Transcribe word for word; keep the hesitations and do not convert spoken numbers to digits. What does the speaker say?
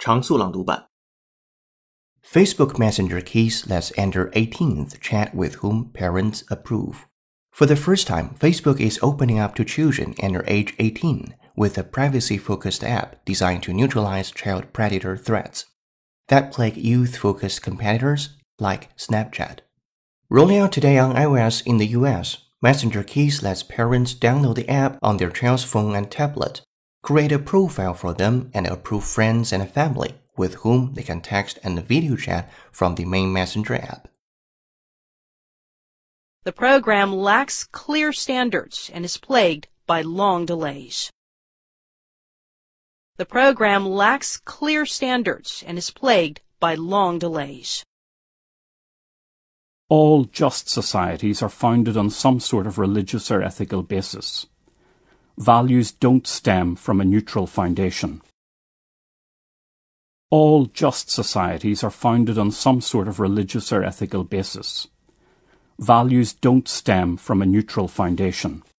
常速朗读版 Facebook Messenger keys lets under eighteenth chat with whom parents approve. For the first time, Facebook is opening up to children under age eighteen with a privacy-focused app designed to neutralize child predator threats that plague youth-focused competitors like Snapchat. Rolling out today on iOS in the U S, Messenger keys lets parents download the app on their child's phone and tablet, create a profile for them, and approve friends and family with whom they can text and video chat from the main Messenger app. The program lacks clear standards and is plagued by long delays. The program lacks clear standards and is plagued by long delays. All just societies are founded on some sort of religious or ethical basis. Values don't stem from a neutral foundation. All just societies are founded on some sort of religious or ethical basis. Values don't stem from a neutral foundation.